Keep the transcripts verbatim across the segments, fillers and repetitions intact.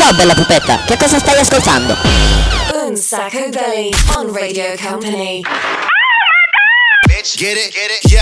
Ciao bella pupetta, che cosa stai ascoltando? Un Sacco Belly on Radio Company. Bitch, get it, get it, yo.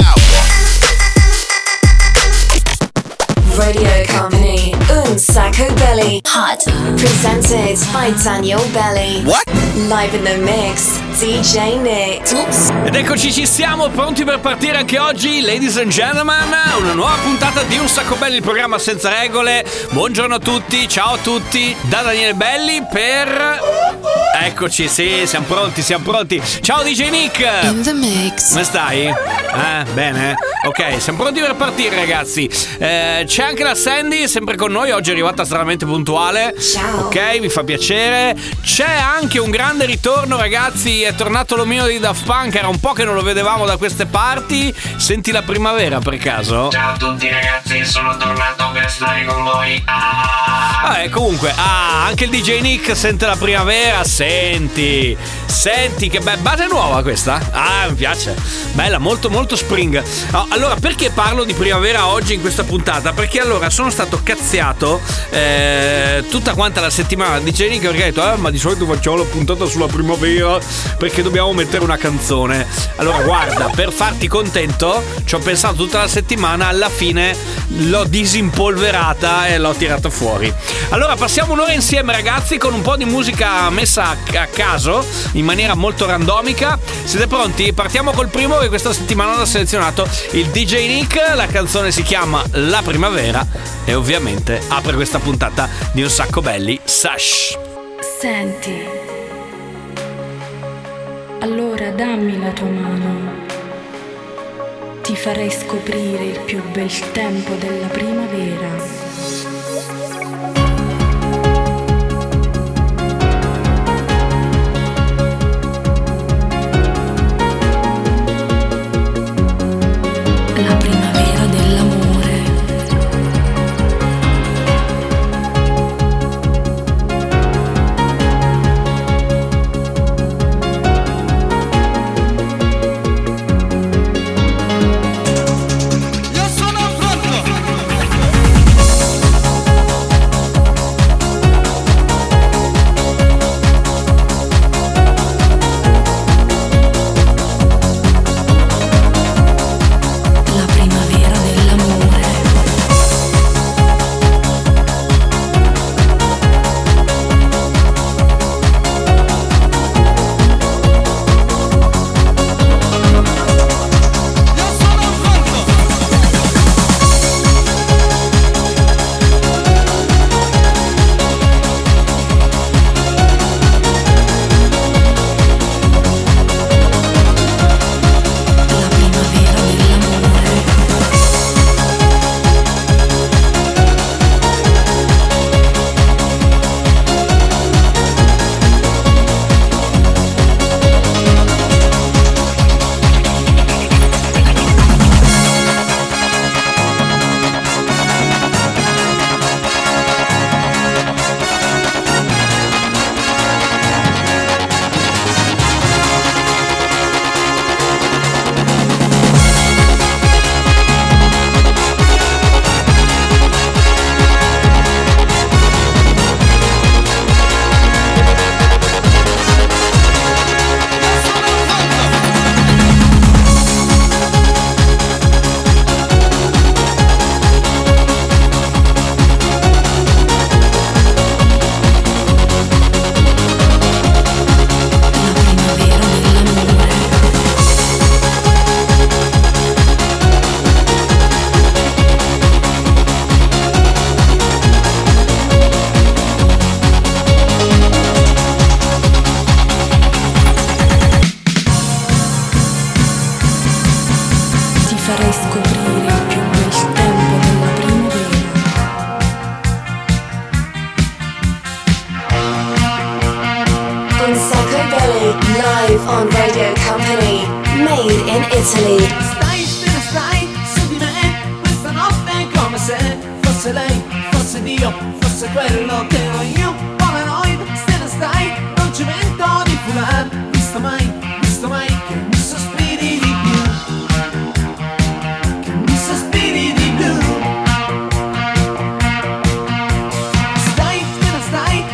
Radio Company, Un Sacco Belly. Hot. Presented by Daniel Belly. What? Live in the mix, D J Nick. Oops. Ed eccoci, ci siamo pronti per partire anche oggi, ladies and gentlemen. Una nuova puntata di Un Sacco Belli, il programma senza regole. Buongiorno a tutti, ciao a tutti, da Daniele Belli per... Eccoci, sì, siamo pronti, siamo pronti. Ciao D J Nick. In the mix. Come stai? Eh, bene? Ok, siamo pronti per partire, ragazzi. Eh, c'è anche la Sandy, sempre con noi. Oggi è arrivata stranamente puntuale. Ciao. Ok, mi fa piacere. C'è anche un grande ritorno, ragazzi. È tornato l'omino di Daft Punk. Era un po' che non lo vedevamo da queste parti. Senti la primavera, per caso? Ciao a tutti ragazzi, sono tornato per stare con voi. Ah. Vabbè, comunque, ah, anche il D J Nick sente la primavera. Senti, senti che bella base nuova questa. Ah, mi piace. Bella, molto molto spring. Oh, allora, perché parlo di primavera oggi in questa puntata? Perché allora sono stato cazziato eh, tutta quanta la settimana di D J Nick, perché ha detto, eh, ma di solito facciamo la puntata sulla primavera perché dobbiamo mettere una canzone. Allora, guarda, per farti contento ci ho pensato tutta la settimana, alla fine l'ho disimpolverata e l'ho tirata fuori. Allora, passiamo un'ora insieme, ragazzi, con un po' di musica messa a, a caso, in maniera molto randomica. Siete pronti? Partiamo col primo che questa settimana ho selezionato, il D J Nick. La canzone si chiama La Primavera e ovviamente apre questa puntata di Un Sacco Belli, Sash. Senti, allora dammi la tua mano, ti farei scoprire il più bel tempo della primavera. La primavera dell'amore. Io sono pronto. La primavera dell'amore. Io sono pronto. La primavera dell'amore. La primavera dell'amore. Ti farei scoprire il più bel tempo della primavera. Un Sacco Belly, live on Radio Company. Made in Italy. Stai, te ne stai su di me questa notte come se fosse lei, fosse Dio, fosse quello che ero io. Polaroid, te ne stai, non ci mento di fular. Visto mai, visto mai che mi sospiri di più, che mi sospiri di più. Stai, te ne stai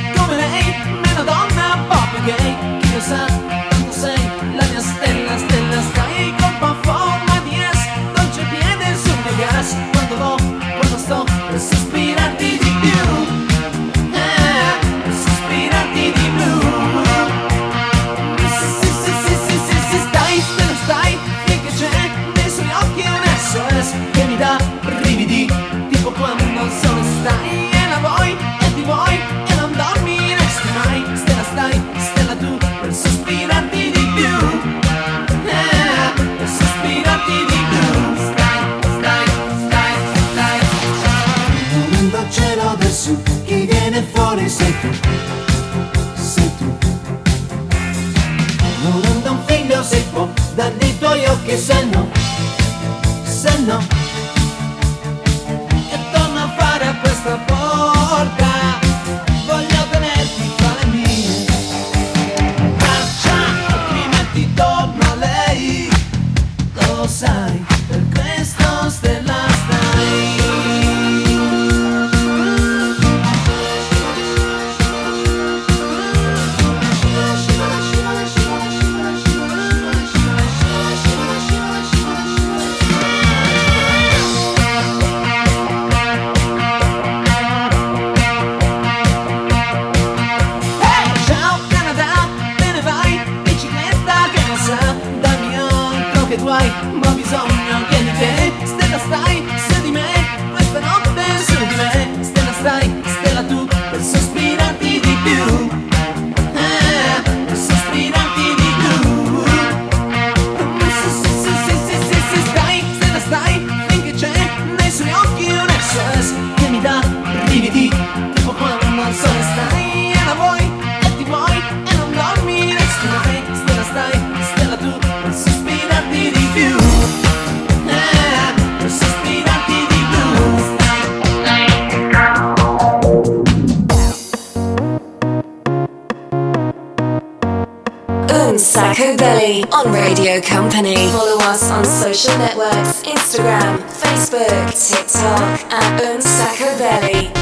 sei tu, sei tu. Non anda un figlio se può dai tuoi occhi, se no, se no, e torna a fare a questa porta. Voglio tenerti fra le mie braccia, altrimenti torno a lei. Lo sai, per questo stella stai. Ma ho bisogno che di te, stella stai su di me, questa notte su di me, stella stai, stella tu, per sospirarti di più, eh, per sospirarti di più. Sì, sì, sì, sì, sì, sì, sì, stai, stella stai, finché c'è nei suoi occhi un S O S che mi dà brividi, tipo quando al sole stai e la vuoi e ti vuoi e non dormi, resti da me, stella stai, stella tu, per sospirarti di più. Sacco Belly on Radio Company. Follow us on social networks, Instagram, Facebook, TikTok at Un Sacco Belly.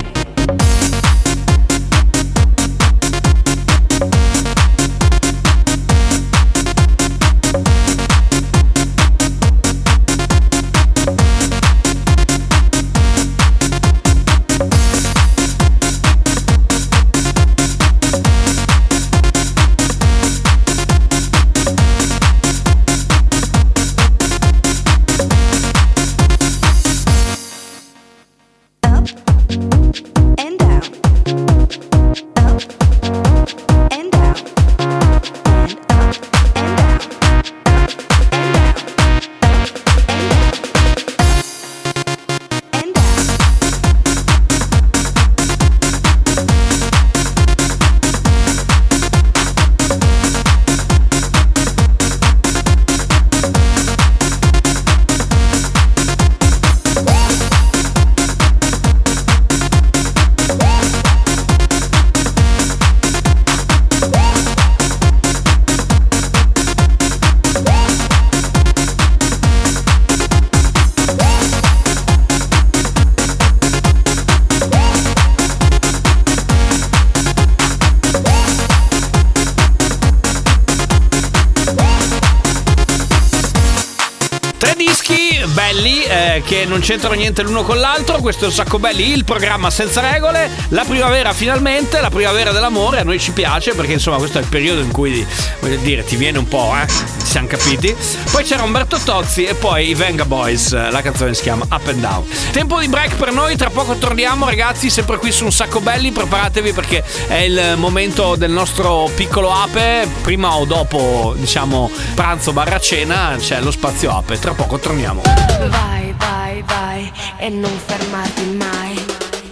Che non c'entrano niente l'uno con l'altro. Questo è Un Sacco Belli, il programma senza regole. La primavera finalmente, la primavera dell'amore. A noi ci piace perché insomma questo è il periodo in cui, voglio dire, ti viene un po', eh ci siamo capiti. Poi c'era Umberto Tozzi e poi i Venga Boys. La canzone si chiama Up and Down. Tempo di break per noi, tra poco torniamo ragazzi, sempre qui su Un Sacco Belli. Preparatevi perché è il momento del nostro piccolo ape. Prima o dopo, diciamo, pranzo barra cena, c'è lo spazio ape. Tra poco torniamo. Vai, vai, vai e non fermarti mai.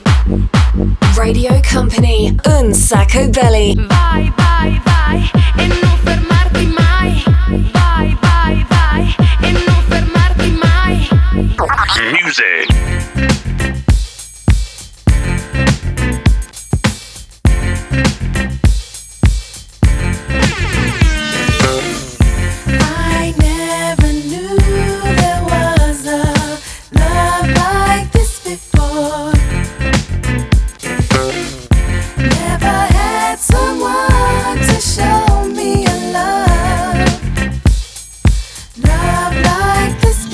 Radio Company, Un Sacco Belly. Vai, vai, vai e non fermarti mai. Vai, vai, vai e non fermarti mai. Music. Love like this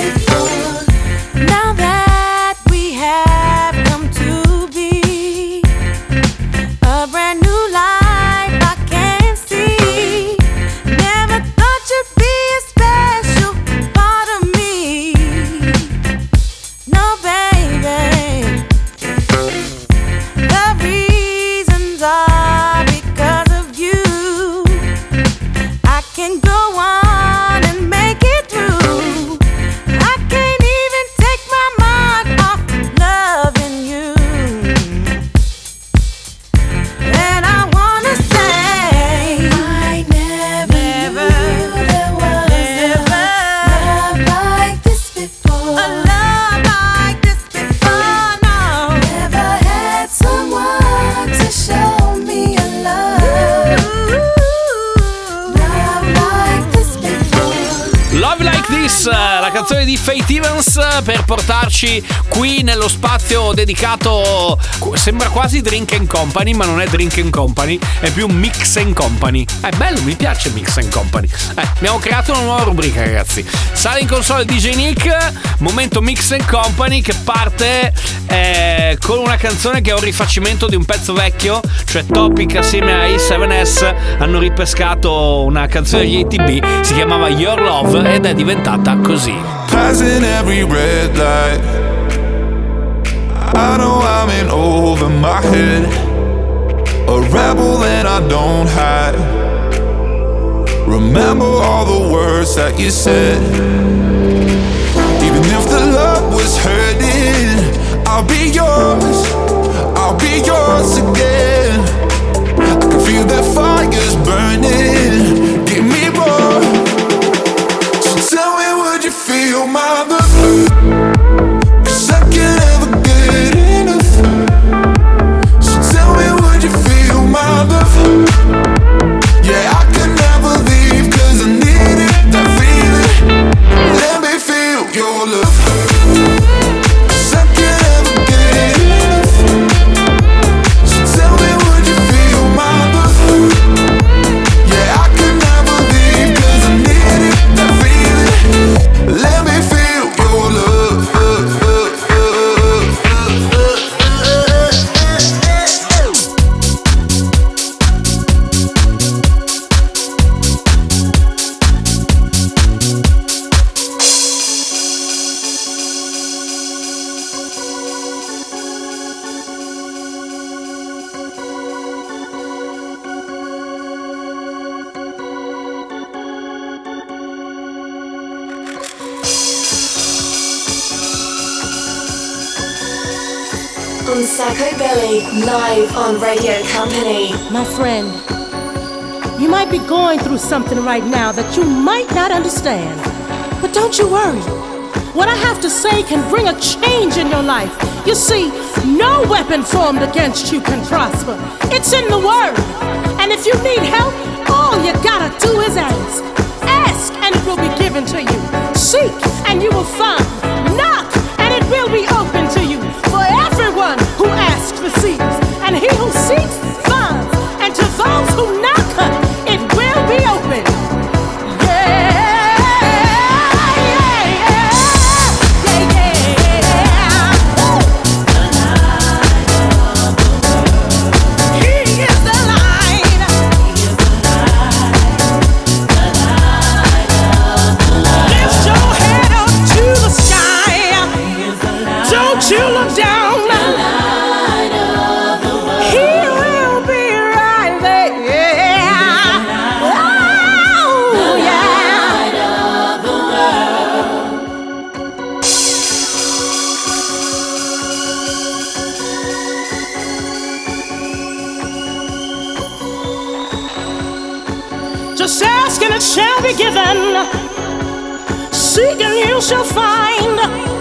canzone di Faith Evans per portarci qui nello spazio dedicato, sembra quasi Drink and Company, ma non è Drink and Company, è più Mix and Company. È bello, mi piace Mix and Company. Eh, abbiamo creato una nuova rubrica, ragazzi. Sale in console D J Nick, momento Mix and Company, che parte eh, con una canzone che è un rifacimento di un pezzo vecchio, cioè Topic assieme ai sette S hanno ripescato una canzone degli A T B, si chiamava Your Love ed è diventata così. Passing every red light, I know I'm in over my head, a rebel and I don't hide. Remember all the words that you said. Even if the love was hurting, I'll be yours, I'll be yours again. I can feel that fire's burning, give me more. So tell me, would you feel my love? 'Cause I can't ever get enough. So tell me, would you feel my love? Yeah, I can never leave 'cause I need it, that feeling. Let me feel your love. 'Cause I can't ever get enough. So tell me, would you feel my love? Yeah, I can never leave 'cause I need it, that feeling. Let me feel your love. On Sacco Belly, live on Radio Company. My friend, you might be going through something right now that you might not understand. But don't you worry. What I have to say can bring a change in your life. You see, no weapon formed against you can prosper. It's in the Word. And if you need help, all you gotta do is ask. Ask and it will be given to you. Seek and you will find. Knock and it will be open to you. For everyone who asks receives, and he who seeks finds, and to those who knock, it will be open. Yeah, yeah, yeah, yeah, yeah. The light of the world. He is the light. He is the light. The light of the world. Lift your head up to the sky. He is the light. Don't you look down. Just ask and it shall be given. Seek and you shall find.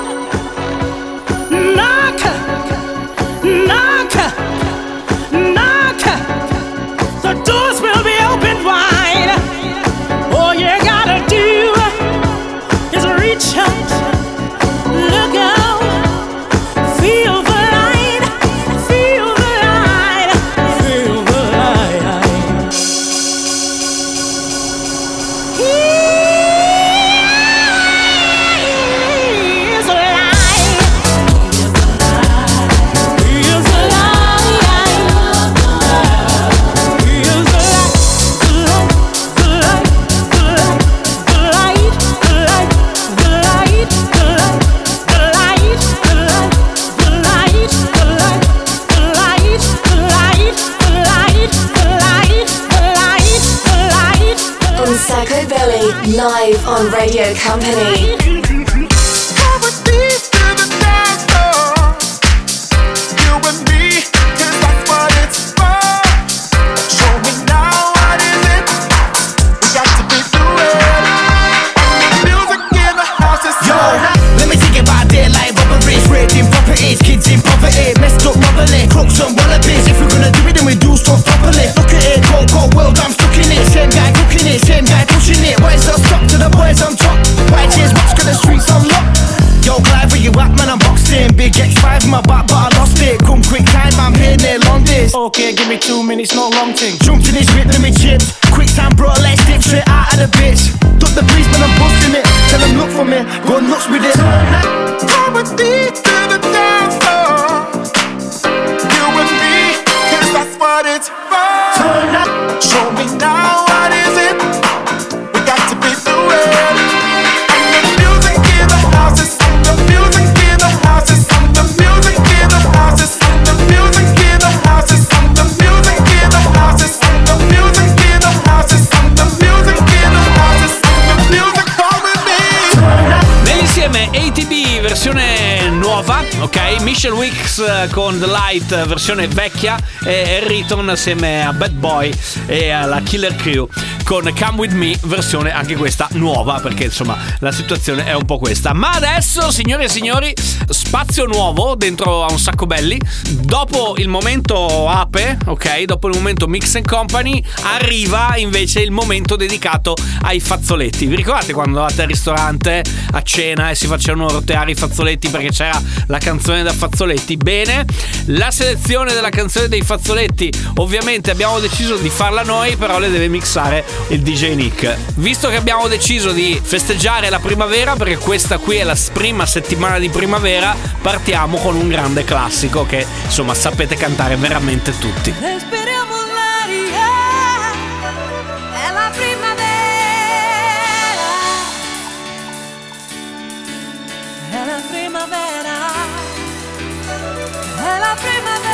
Knock, knock, knock. The doors will be opened wide. All you gotta do is reach out, look out, feel the light, feel the light, feel the light. my back but I lost it. Come quick time, I'm here near long days. Okay, give me two minutes, no long thing. Jumped in this whip, let me chips. Quick time, bro, let's dip straight out of the bitch. Duck the breeze, man, I'm busting it. Tell them look for me, go nuts with it. Come with me to the dance floor. You and me, cause that's what it's for. Turn up, show me now what is it. We got to be through it. And the music in the house is on the music in the house is on the music in the house is on the music in the house is on the music in the house is on the music in the house is on the music in the house is on the music for me. Nell'insieme A T B versione nuova, ok? Michelle Wicks con The Light versione vecchia e Riton assieme a Bad Boy e alla Killer Crew con Come With Me versione anche questa nuova, perché insomma la situazione è un po' questa. Ma adesso, signore e signori, spazio nuovo dentro a Un Sacco Belli. Dopo il momento ape, ok? Dopo il momento Mix and Company arriva invece il momento dedicato ai fazzoletti. Vi ricordate quando andavate al ristorante a cena e si facevano roteare i fazzoletti perché c'era la canzone da fazzoletti? Bene, la selezione della canzone dei fazzoletti ovviamente abbiamo deciso di farla noi, però le deve mixare il D J Nick. Visto che abbiamo deciso di festeggiare la primavera, perché questa qui è la prima settimana di primavera, partiamo con un grande classico che insomma sapete cantare veramente tutti. Respiriamo l'aria, è la primavera, è la primavera, è la primavera.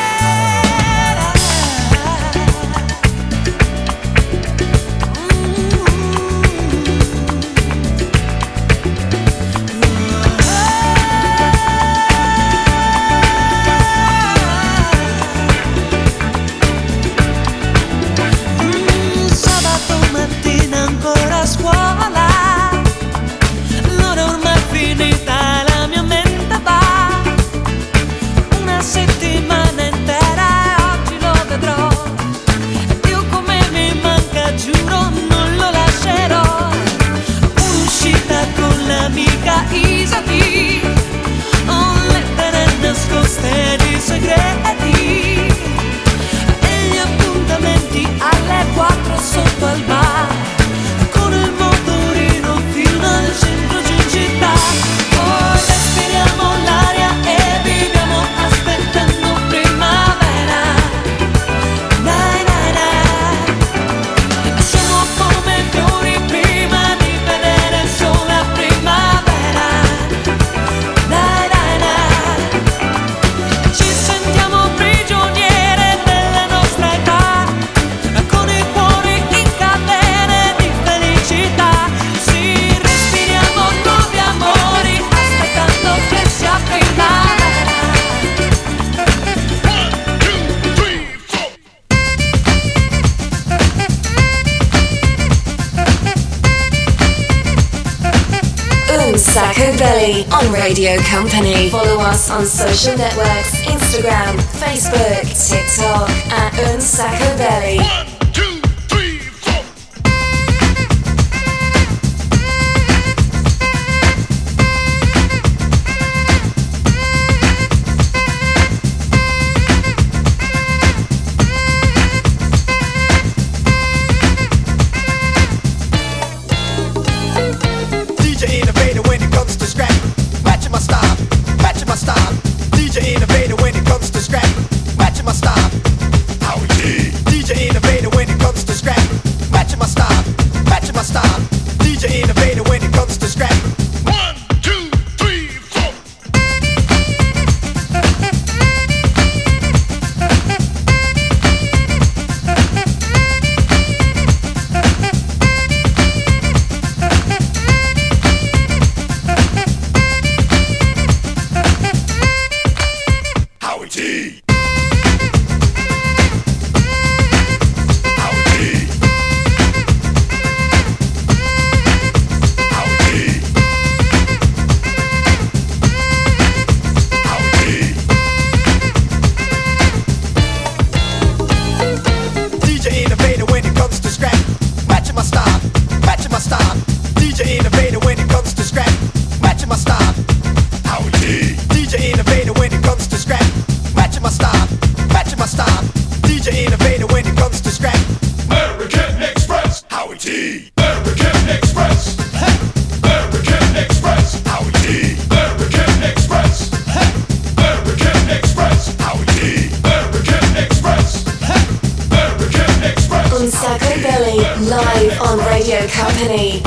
Sacco Belly on Radio Company. Follow us on social networks, Instagram, Facebook, TikTok at Un Sacco Belly. D J innovator Company.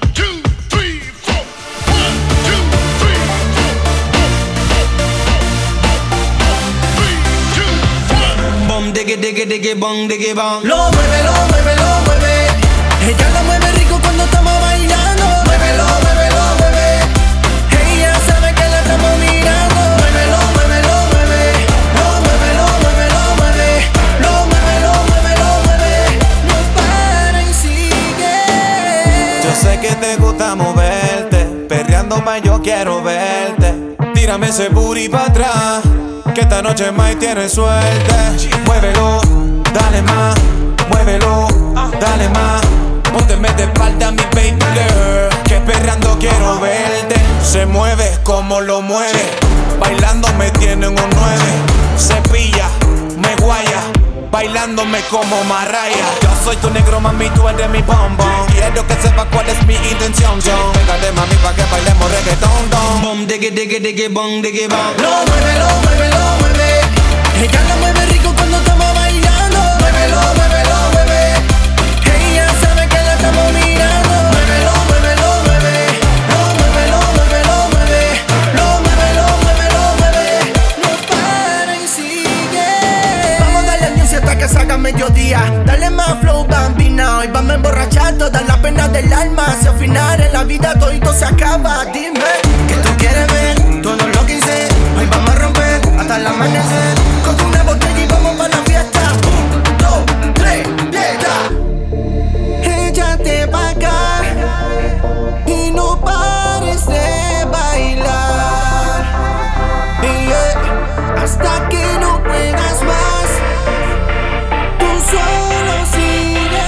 Bom, diggy, diggy, diggy, bong, diggy, bong. Lo mueve, lo mueve, lo mueve. Ella lo mueve rico cuando estamos bailando. Muévelo, muévelo, mueve. Ella sabe que la estamos mirando. Muévelo, muévelo, mueve. Lo mueve, lo mueve, lo mueve. Lo mueve, lo mueve, lo mueve. No para y sigue. Yo sé que te gusta moverte, perreando más yo quiero verte. Tírame ese booty pa' atrás, que esta noche más tienes suerte. Muévelo, dale más, muévelo, dale más. Pónteme de espalda mi baby girl, que perreando quiero verte. Se mueve como lo mueve, bailando me tiene un nueve. Se pilla, me guaya, bailándome como Mariah. Yo soy tu negro, mami, tú eres mi bombón. Quiero que sepa cuál es mi intención, John. Pégate, mami, pa' que bailemos reggaetón, don. Bom, diggy, diggy, diggy, bong, diggy, bong. Lo mueve, lo mueve, lo mueve. Ella lo mueve rico cuando estamos bailando. Muévelo, muévelo, mueve. Ella sabe que la estamos mirando. Muévelo, muévelo, mueve. Lo mueve, lo mueve, lo mueve. Lo mueve, lo mueve, lo mueve. No para y sigue. Vamos a darle music hasta que salga mediodía. Dale más flow, bambina. Hoy vamos a emborrachar todas las penas del alma. Si al final en la vida todito se acaba. Dime que tú quieres ver todo lo que hice. Hoy vamos a romper hasta el amanecer. Coge una botella y vamos para la fiesta. Un, dos, tres, fiesta. Échate pa' acá y no pares de bailar. Yeah. Hasta que no puedas más, tú solo sigue.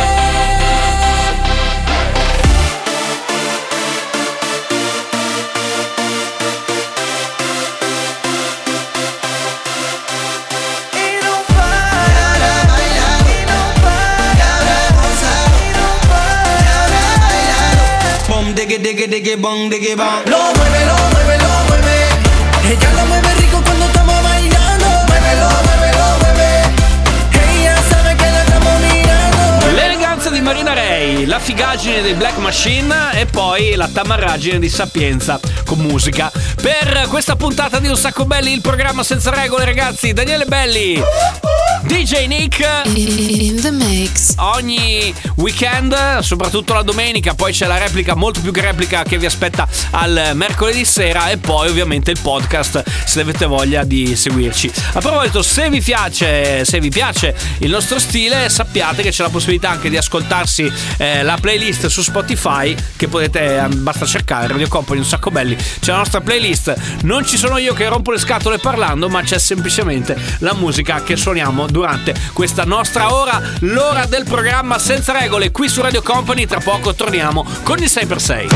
Y no para bailar, y no para gozar, y no para bailar. Bom, diggy, diggy, diggy, bong, diggy, bong. Lo mueve, lo mueve, lo mueve. Ella lo mueve rico cuando estamos bailando. Muévelo, muévelo, mueve. Ella sabe che la stiamo mirando. L'eleganza di Marina Ray, la figaggine dei Black Machine e poi la tamarraggine di Sapienza con musica. Per questa puntata di Un Sacco Belli, il programma senza regole, ragazzi, Daniele Belli, D J Nick In the mix. ogni weekend, soprattutto la domenica. Poi c'è la replica, molto più che replica, che vi aspetta al mercoledì sera. E poi ovviamente il podcast, se avete voglia di seguirci. A proposito, se vi piace se vi piace il nostro stile, sappiate che c'è la possibilità anche di ascoltarsi eh, la playlist su Spotify, che potete, eh, basta cercare Radio Company Un Sacco Belli. C'è la nostra playlist, non ci sono io che rompo le scatole parlando, ma c'è semplicemente la musica che suoniamo durante questa nostra ora, l'ora del programma senza regole qui su Radio Company. Tra poco torniamo con il sei per sei.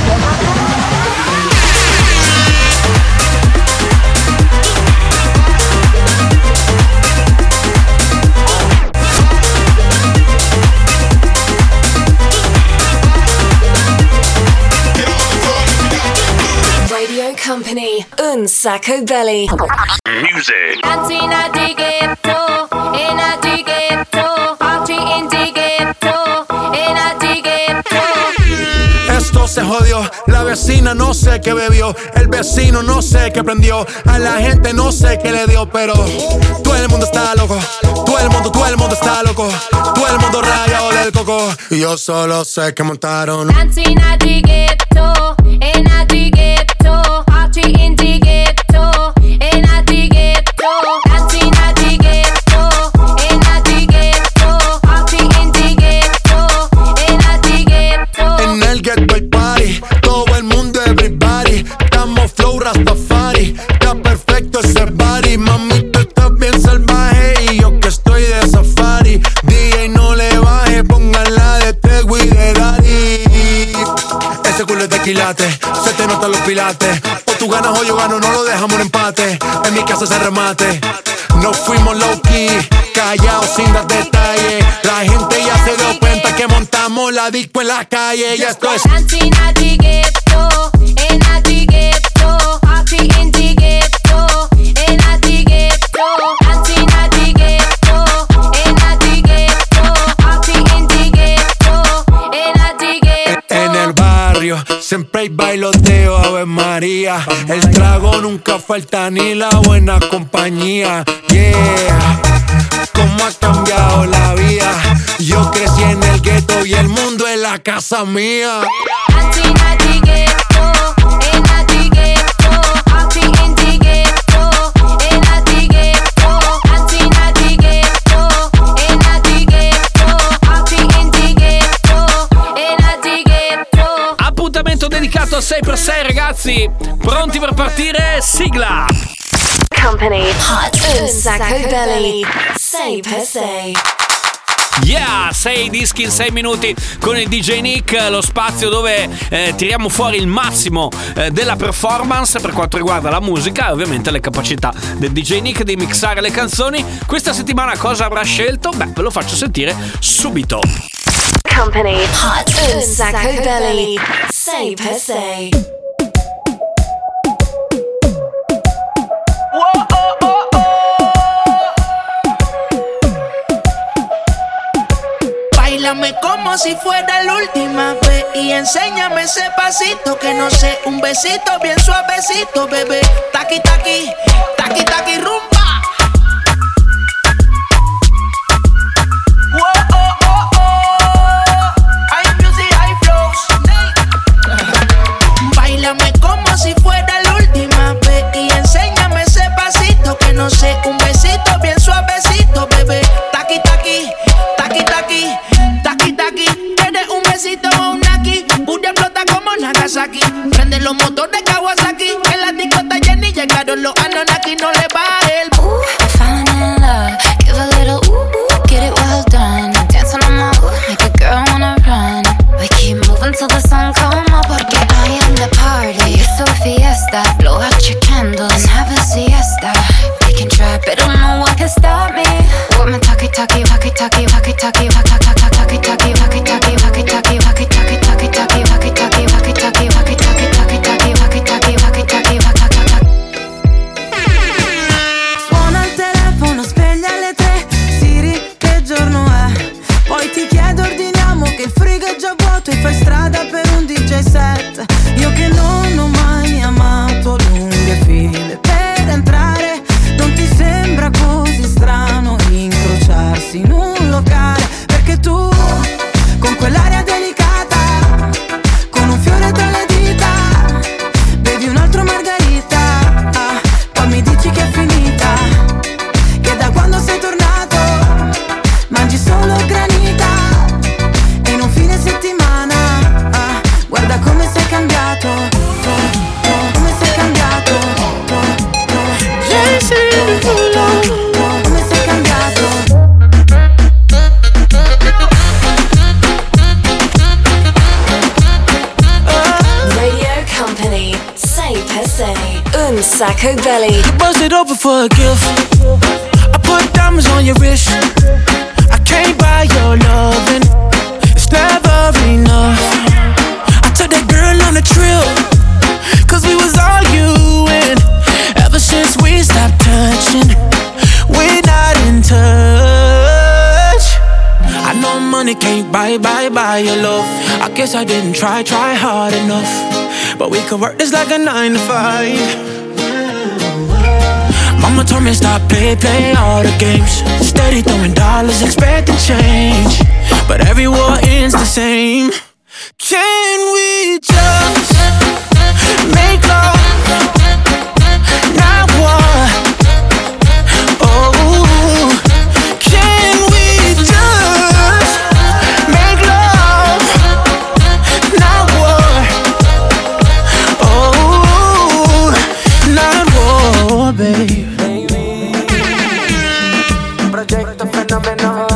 Radio Company, Un Sacco Belly. Music. Dancing in the ghetto, in the ghetto, party in the ghetto, in the ghetto. Esto se jodió, la vecina no sé qué bebió, el vecino no sé qué prendió, a la gente no sé qué le dio, pero todo el mundo está loco, todo el mundo, todo el mundo está loco, todo el mundo rayado del coco, y yo solo sé que montaron. Dancing in the ghetto, in the ghetto, party in the ghetto, in the ghetto. Dancing in the ghetto, in the ghetto, party in the ghetto, in the ghetto. En el ghetto hay party, todo el mundo everybody, estamos flow Rastafari, está perfecto ese body, mami tú estás bien salvaje y yo que estoy de safari, D J no le baje, póngala de Tego y de Daddy. Ese culo es de quilate, se te notan los pilates, o tú ganas o yo gano, no lo dejamos en empate, en mi casa se remate. No fuimos low key, callados sin dar detalles. La gente ya se dio cuenta que montamos la disco en la calle. Ya esto es Dancing in the ghetto, in the ghetto, party in the ghetto, in the ghetto. Dancing in the ghetto, in the ghetto, party in the ghetto, in the día. El trago nunca falta ni la buena compañía. Yeah, cómo ha cambiado la vida. Yo crecí en el gueto y el mundo es la casa mía. Dedicato a sei per sei, ragazzi, pronti per partire? Sigla. Company Hot un sacco belli sei per sei. Yeah, sei dischi in sei minuti con il D J Nick, lo spazio dove eh, tiriamo fuori il massimo eh, della performance per quanto riguarda la musica e ovviamente le capacità del D J Nick di mixare le canzoni. Questa settimana cosa avrà scelto? Beh, ve lo faccio sentire subito. Company Hot un sacco belli sei per sei. Báilame como si fuera la última vez y enséñame ese pasito que no sé, un besito bien suavecito, bebé. Taqui taqui, taqui taqui rumba. Como si fuera la última vez y enséñame ese pasito que no sé, un besito bien suavecito, bebé. Taqui taqui, taqui taqui, taqui taqui. Tienes un besito o un aquí, Buria explota como Nagasaki. Prende los motores Kawasaki, en la discota Jenny llegaron los Anunnaki, no le va el. Ooh, I'm falling in love, give a little ooh, ooh, get it well done. Dancing on my ooh, make a girl wanna run. We keep moving till the sun come up, porque I am the party. It's a fiesta, blow out your candles and have a siesta. They can try, but don't know what can stop me. With my talkie talkie, walkie talkie, walkie talkie, walkie talkie, talkie talkie, walkie talkie, walkie talkie, walkie talkie, talkie talkie, walkie talkie, walkie talkie, walkie talkie, talkie talkie, walkie talkie, walkie talkie, walkie talkie. Suona il telefono, sveglia alle tre, Siri, che giorno è? Poi ti chiedo, ordiniamo che il frigo è già vuoto e fai strada per un D J set. Io che non ho mai amato lunghe file per entrare, non ti sembra così strano incrociarsi in un locale? Perché tu, con quell'aria delicata, con un fiore tra le dita, bevi un altro margarita, ah, poi mi dici che è finita, che da quando sei tornato mangi solo granita e in un fine settimana, ah, guarda come sei cambiato, oh, oh, come sei cambiato, oh, oh, yes, oh, oh, oh, come sei cambiato. Radio Company sei per sei un sacco belli. You bust it open for a gift. I put diamonds on your wrist. I can't buy your loving. It's never enough. I took that girl on a trip, cause we was arguing. Ever since we stopped touching, we're not in touch. I know money can't buy, buy, buy your love. I guess I didn't try, try hard enough. But we could work this like a nine to five. Mama told me stop, play, play all the games. Steady throwing dollars, expecting change. But every war ends the same. Can we just make love, not war? Oh, can we just make love, not war? Oh, not war, babe. Proyecto fenómeno.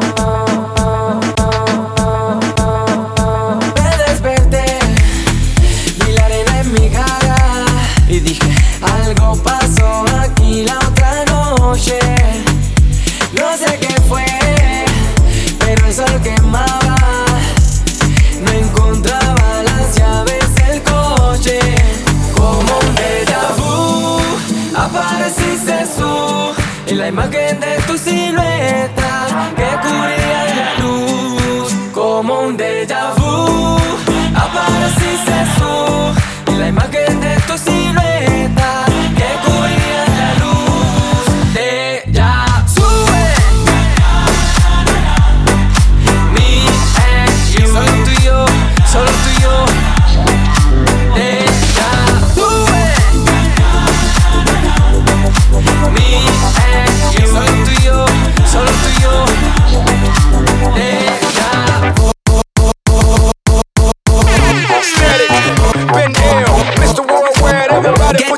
Me desperté, vi la arena en mi cara y dije, algo pasó aquí la otra noche. No sé qué fue, pero el sol quemaba. No encontraba las llaves del coche. Como un déjà vu, apareciste tú y la imagen de tu silueta que cubría la luz. Como un déjà vu, apareciste tú y la imagen de tu silueta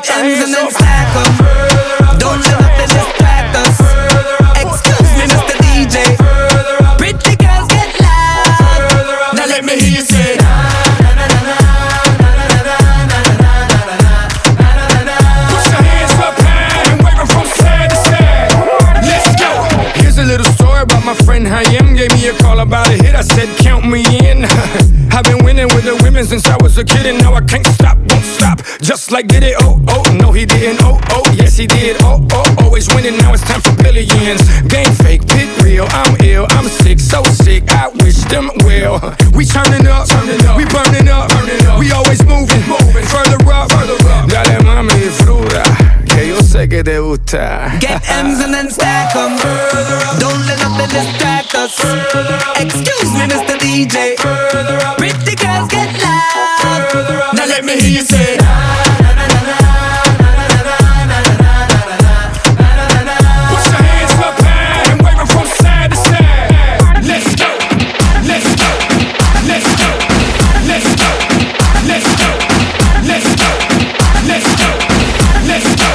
Get ends and then stack them. Don't let nothing distract us. Excuse me, Mister D J. Pretty girls get loud. Now let me hear you say. My friend Hayem gave me a call about a hit. I said, count me in. I've been winning with the women since I was a kid, and now I can't stop, won't stop. Just like did it, oh, oh, no he didn't, oh, oh, yes he did, oh, oh, always winning, now it's time for billions. Game fake, pit real, I'm ill, I'm sick, so sick, I wish them well. We turning up, turning up, we burning up, burning up. We always moving, moving, further up, further up. Dale mami, fruta, que yo sé que te gusta. Get M's and then stack them. Don't let nothing distract us. Excuse me, Mister D J. Pretty girls get loud. Now let me hear you say. Put your hands up high and wave them from side to side. Let's go, let's go, let's go, let's go, let's go, let's go, let's go, let's go.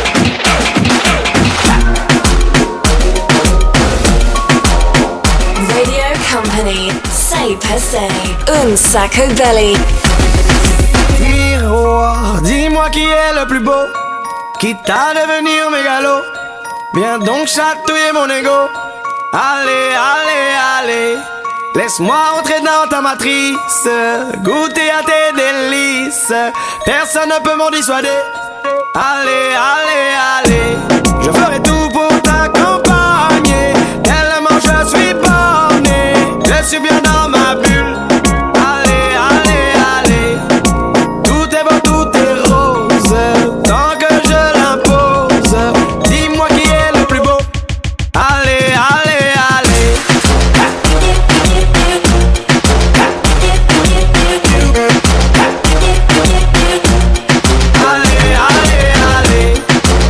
Radio Company, sei per sei, un sacco belly. Miroir, dis-moi qui est le plus beau, quitte à devenir mégalo. Viens donc chatouiller mon ego. Allez, allez, allez. Laisse-moi entrer dans ta matrice, goûter à tes délices. Personne ne peut m'en dissuader. Allez, allez, allez. Je ferai tout pour t'accompagner. Tellement je suis borné, je suis bien dans ma bulle. Allez, allez, allez. Tout est beau, tout est rose, tant que je l'impose. Dis-moi qui est le plus beau. Allez, allez, allez. Allez, allez, allez.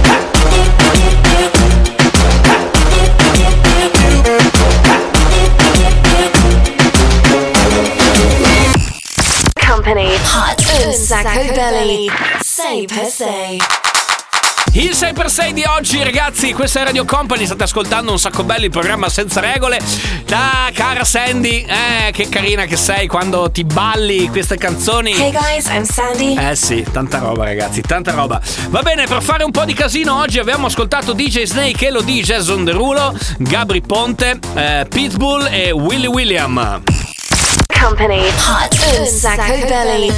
Company, hot, un sacco belly, sei per sei. Il sei per sei di oggi, ragazzi, questa è Radio Company, state ascoltando Un Sacco Belli, il programma senza regole. Ah, cara Sandy, eh, che carina che sei quando ti balli queste canzoni. Hey guys, I'm Sandy. Eh sì, tanta roba ragazzi, tanta roba. Va bene, per fare un po' di casino oggi abbiamo ascoltato D J Snake, Elodie, Jason Derulo, Gabri Ponte, eh, Pitbull e Willy William. Company, hot, un sacco belly.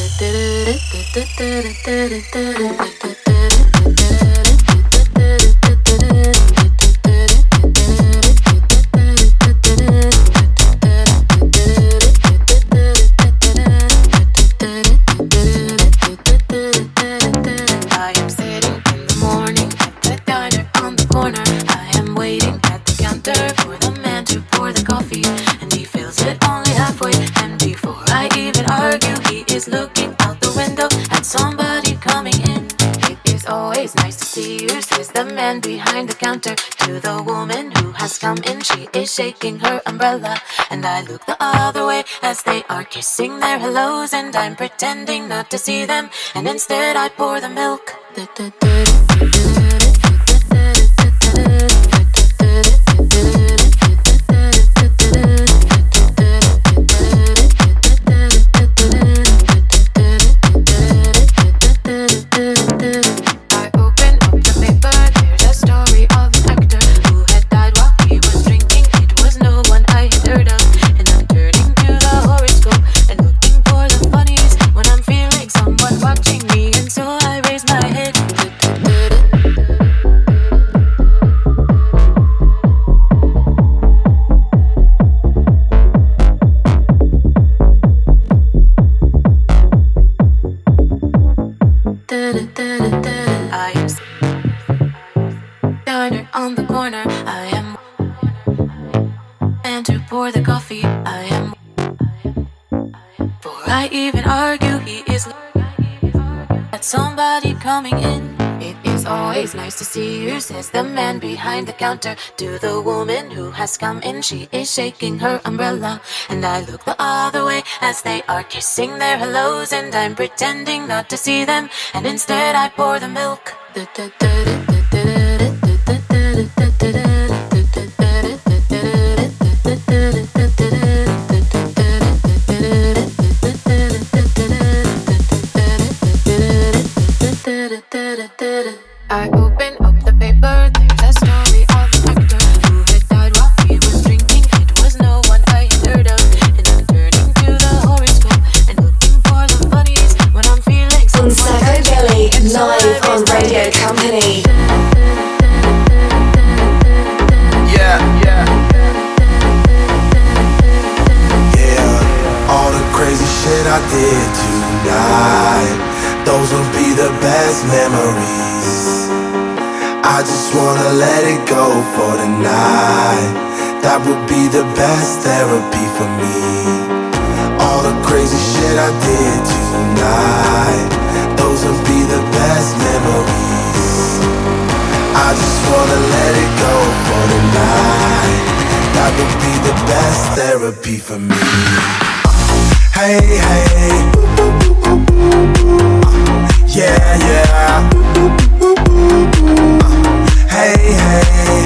Behind the counter to the woman who has come in. She is shaking her umbrella, and I look the other way as they are kissing their hellos, and I'm pretending not to see them, and instead I pour the milk. Somebody coming in. It is It's always nice to see you, says the man behind the counter to the woman who has come in. She is shaking her umbrella, and I look the other way as they are kissing their hellos, and I'm pretending not to see them, and instead I pour the milk. I open up the paper, there's a story of an actor who had died while he was drinking. It was no one I had heard of, and I'm turning to the horoscope and looking for the funnies when I'm feeling so Sacco Belly, live on Radio Company. Yeah, yeah. Yeah, all the crazy shit I did tonight, those will be the best memories. I just wanna let it go for the night. That would be the best therapy for me. All the crazy shit I did tonight, those will be the best memories. I just wanna let it go for the night. That would be the best therapy for me. Hey, hey. Yeah, yeah. Hey, hey.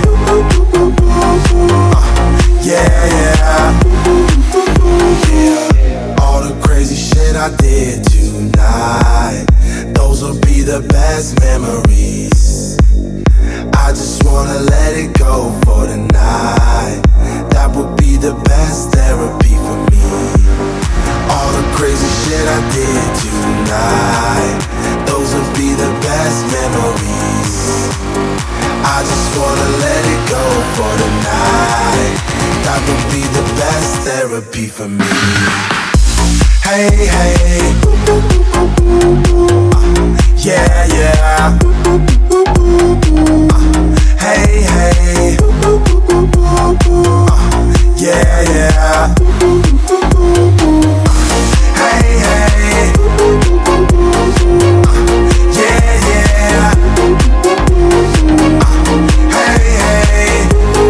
Yeah, yeah. Yeah. All the crazy shit I did tonight, those will be the best memories. I just wanna let it go for the night. That would be the best therapy for me. All the crazy shit I did tonight, those will be the best memories. I just wanna let it go for the night. That would be the best therapy for me. Hey, hey. Yeah, yeah. Hey, hey. Yeah, yeah. Hey, hey. Yeah, yeah. Hey, hey.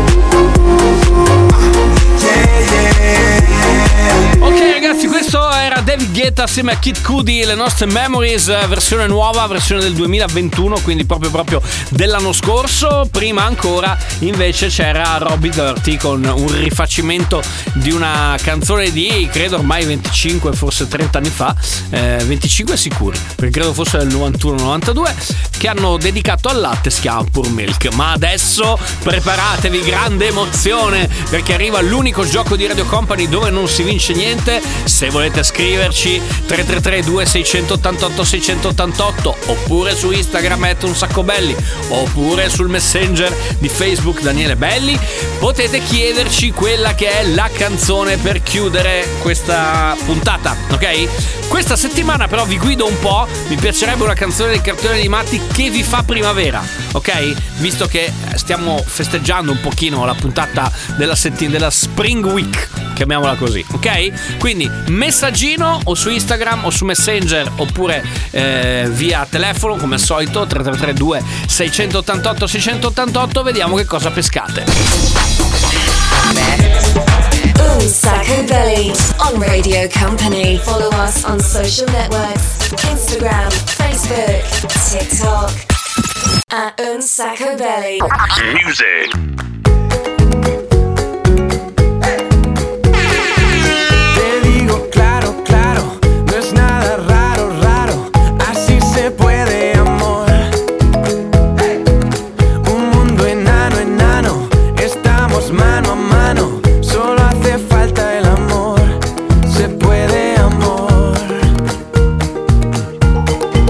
Yeah, yeah. Ok ragazzi, questo era David Guetta assieme a Kid Cudi, le nostre Memories, versione nuova, versione del duemilaventuno, quindi proprio proprio dell'anno scorso. Prima ancora invece c'era Robbie Dirty con un rifacimento di una canzone di credo ormai venticinque, forse trenta anni fa, eh, venticinque sicuri, perché credo fosse del novantuno novantadue, che hanno dedicato al latte, si chiama Pure Milk. Ma adesso preparatevi, grande emozione, perché arriva l'unico gioco di Radio Company dove non si vince niente. Se volete scriverci tre tre tre due sei otto otto sei otto otto, oppure su Instagram at un sacco belli, oppure sul Messenger di Facebook Daniele Belli, potete chiederci quella che è la canzone per chiudere questa puntata, ok? Questa settimana però vi guido un po', mi piacerebbe una canzone dei cartoni animati che vi fa primavera, ok? Visto che stiamo festeggiando un pochino la puntata della settimana della Spring Week, chiamiamola così, ok? Quindi messaggino o su Instagram o su Messenger, oppure eh, via telefono come al solito tre tre tre due sei otto otto sei otto otto, vediamo che cosa pescate. Un Sacco Belly on Radio Company. Follow us on social networks, Instagram, Facebook, TikTok at Un Sacco Belly. Music.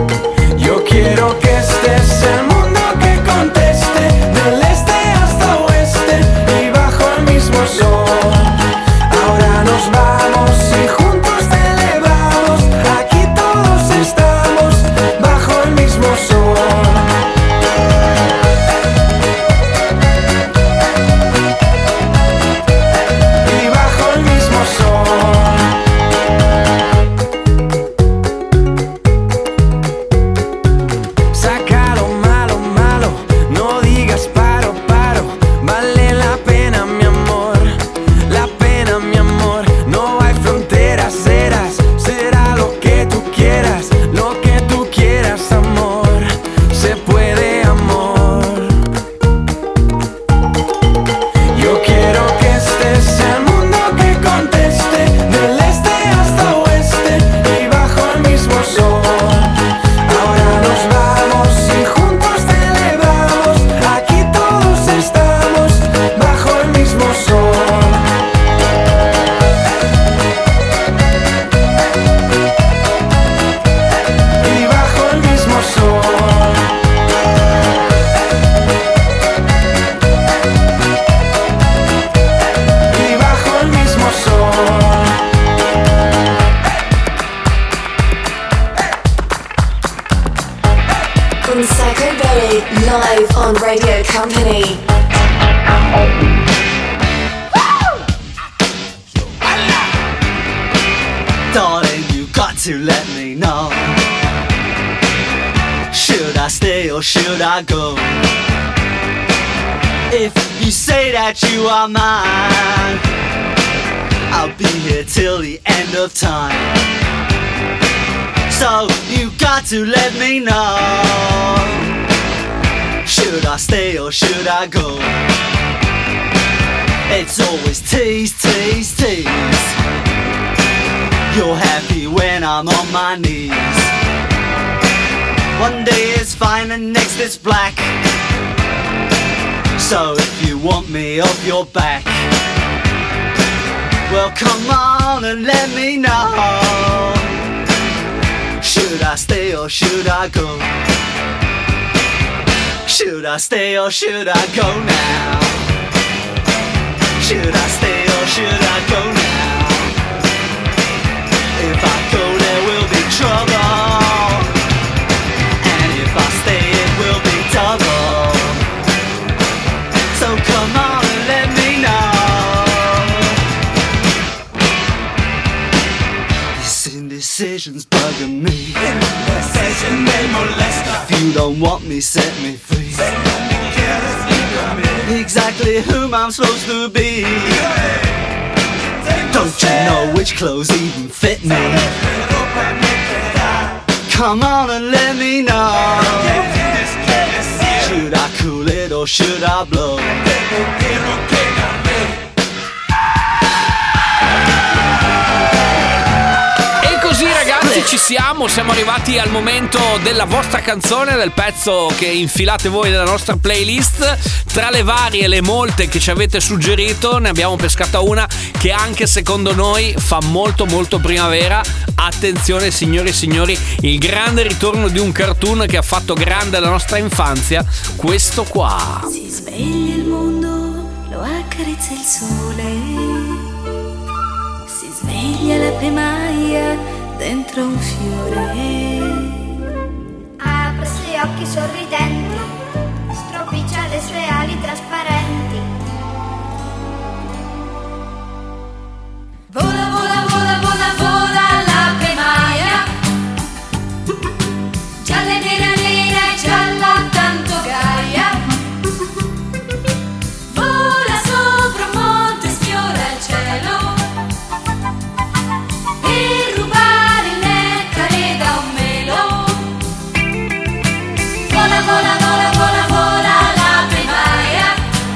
Quiero que estés el mundo que conteste del este hasta oeste. Belly, live on Radio Company. Darling, you got to let me know. Should I stay or should I go? If you say that you are mine, I'll be here till the end of time. So you got to let me know. Should I stay or should I go? It's always tease, tease, tease. You're happy when I'm on my knees. One day it's fine and next it's black. So if you want me off your back, well come on and let me know. Should I stay or should I go? Should I stay or should I go now? Should I stay or should I go now? If I go there will be trouble, and if I stay it will be double. So come on and let me know. This indecision's bugging me. Indecision me molesta. If you don't want me, set me free. Exactly whom I'm supposed to be. Don't you know which clothes even fit me? Come on and let me know. Should I cool it or should I blow? E così ragazzi ci siamo, siamo arrivati al momento della vostra canzone, del pezzo che infilate voi nella nostra playlist. Tra le varie e le molte che ci avete suggerito ne abbiamo pescata una che anche secondo noi fa molto molto primavera. Attenzione signori e signori, il grande ritorno di un cartoon che ha fatto grande la nostra infanzia, questo qua. Si sveglia il mondo, lo accarezza il sole. Si sveglia la pemaia dentro un fiore. Apre gli occhi sorridenti, stropiccia le sue ali trasparenti. Vola, vola, vola, vola, vola la pemaia. Gialla, nera, nera e gialla, tanto gaia. Vola sopra un monte, sfiora il cielo. Per rubare il nettare da un melo. Vola, vola, vola, vola, vola la pemaia.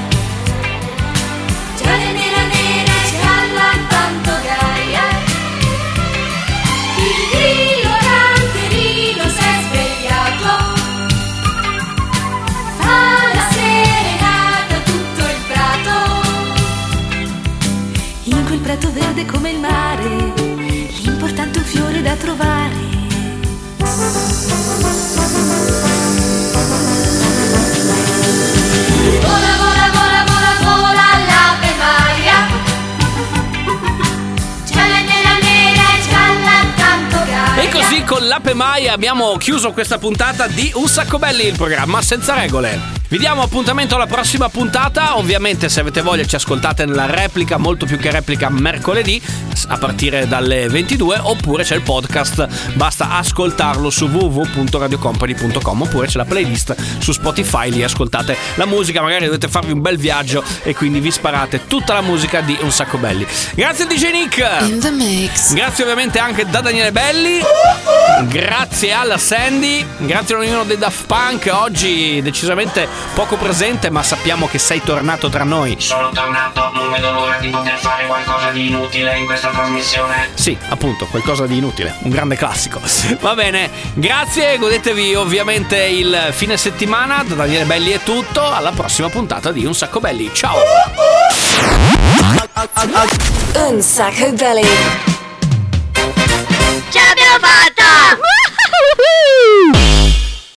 Gialla, nera, nera e gialla, tanto gaia. Il grillo canterino s'è svegliato. Fa la serenata tutto il prato. In quel prato verde come il mare, l'importante è un fiore da trovare. Vola, vola, vola, vola, vola la pemaia. Gialla, nera, nera e gialla, tanto gaia. E così con l'Ape Maia abbiamo chiuso questa puntata di Un Sacco Belli, il programma senza regole. Vi diamo appuntamento alla prossima puntata. Ovviamente se avete voglia ci ascoltate nella replica, molto più che replica, mercoledì a partire dalle ventidue, oppure c'è il podcast, basta ascoltarlo su w w w punto radio company punto com, oppure c'è la playlist su Spotify, lì ascoltate la musica, magari dovete farvi un bel viaggio e quindi vi sparate tutta la musica di Un Sacco Belli. Grazie D J Nick. In the mix. Grazie ovviamente anche da Daniele Belli. Grazie alla Sandy. Grazie a ognuno dei Daft Punk, oggi decisamente poco presente, ma sappiamo che sei tornato tra noi. Sono tornato, non vedo l'ora di poter fare qualcosa di inutile in questa trasmissione. Sì, appunto, qualcosa di inutile, un grande classico. Va bene, grazie, godetevi ovviamente il fine settimana. Da Daniele Belli è tutto, alla prossima puntata di Un Sacco Belli. Ciao. Un Sacco Belli. Ce l'abbiamo fatta!